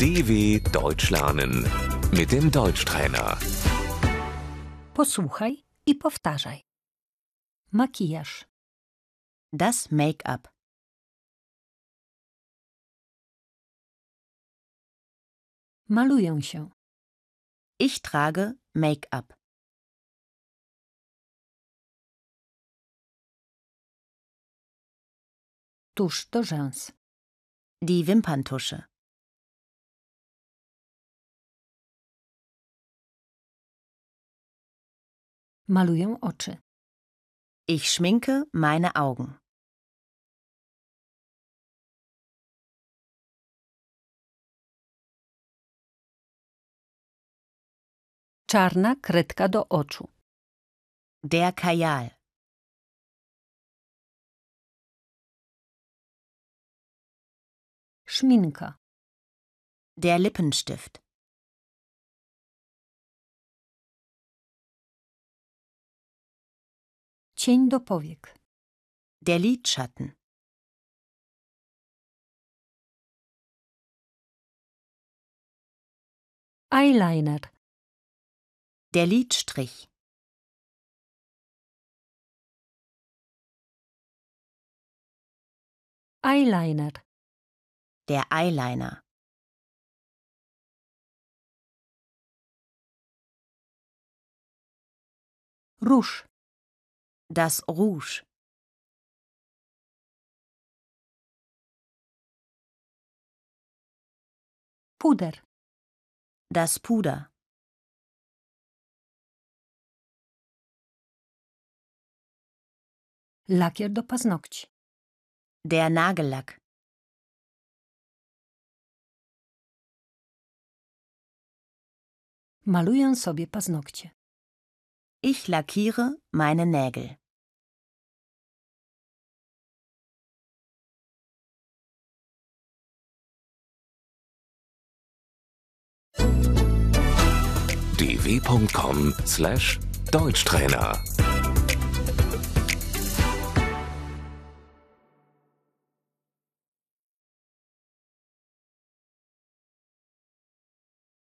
DW Deutsch lernen mit dem Deutschtrainer. Posłuchaj i powtarzaj. Makijaż, Das Make-up. maluję się, Ich trage Make-up. tusz do rzęs, Die Wimperntusche. maluję oczy, Ich schminke meine Augen. czarna kredka do oczu, Der Kajal. szminka, Der Lippenstift. cień do powiek, Der Lidschatten. eyeliner, Der Lidstrich. eyeliner, Der Eyeliner. róż, Das Rouge. puder, Das Puder. lakier do paznokci, Der Nagellack. maluję sobie paznokcie. Ich lackiere meine Nägel. dw.com/Deutschtrainer